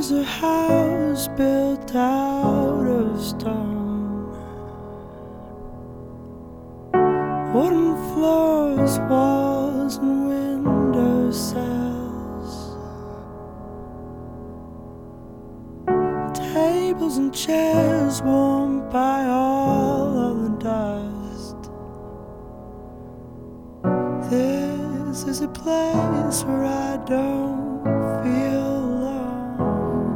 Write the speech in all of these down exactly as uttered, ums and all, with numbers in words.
was a house built out of stone, wooden floors, walls and window sills, tables and chairs warmed by all of the dust. This is a place where I don't feel alone.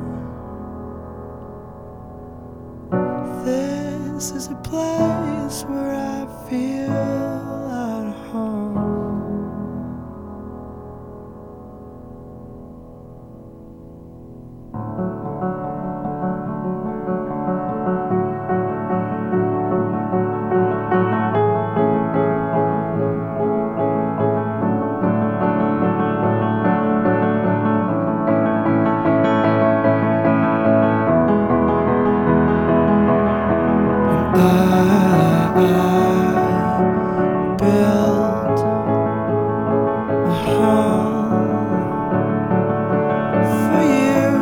This is a place where I feel at home. I built a home for you,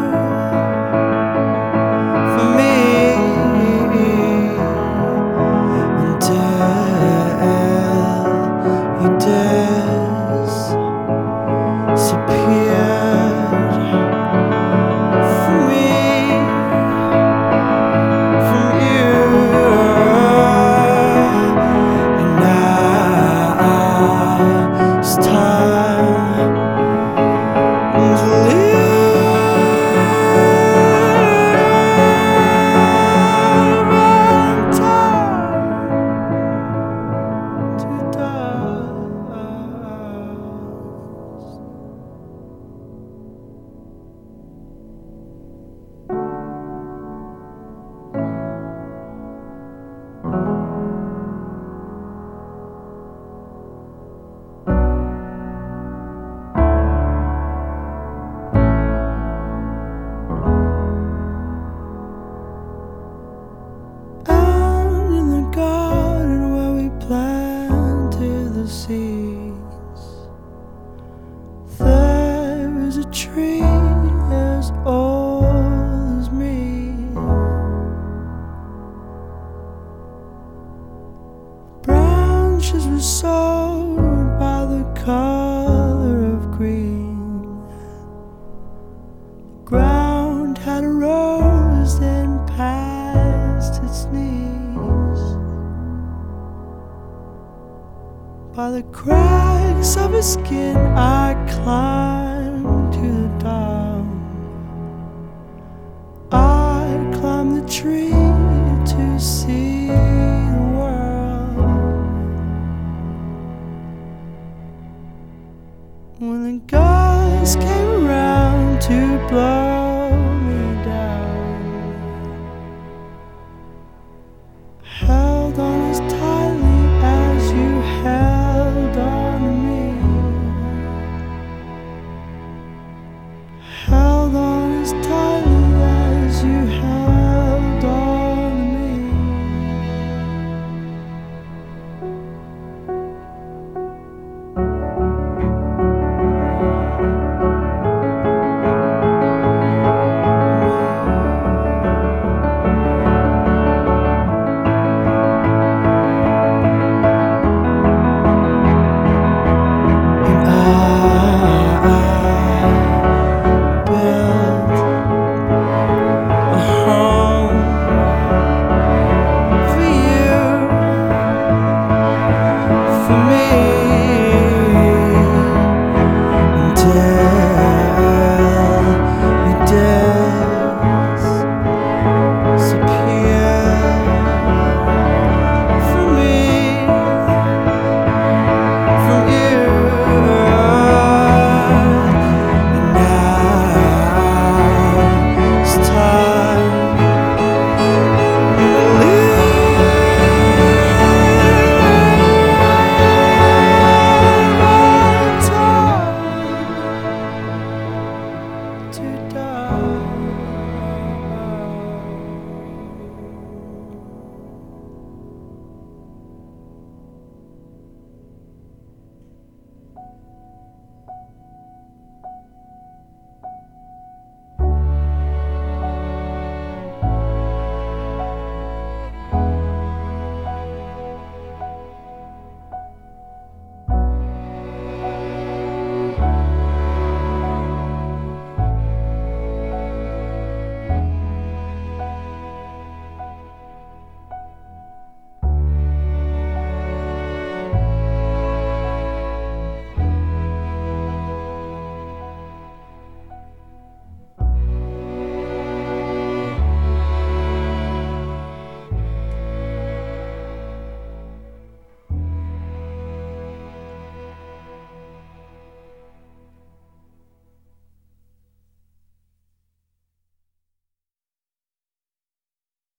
for me, until you disappeared from me, from you. It's time to live and time to die. Planted the seeds. There is a tree as old as me. Branches were sown by the color of green. The ground had rose and past its knees. By the cracks of his skin I climbed to the top. I climbed the tree.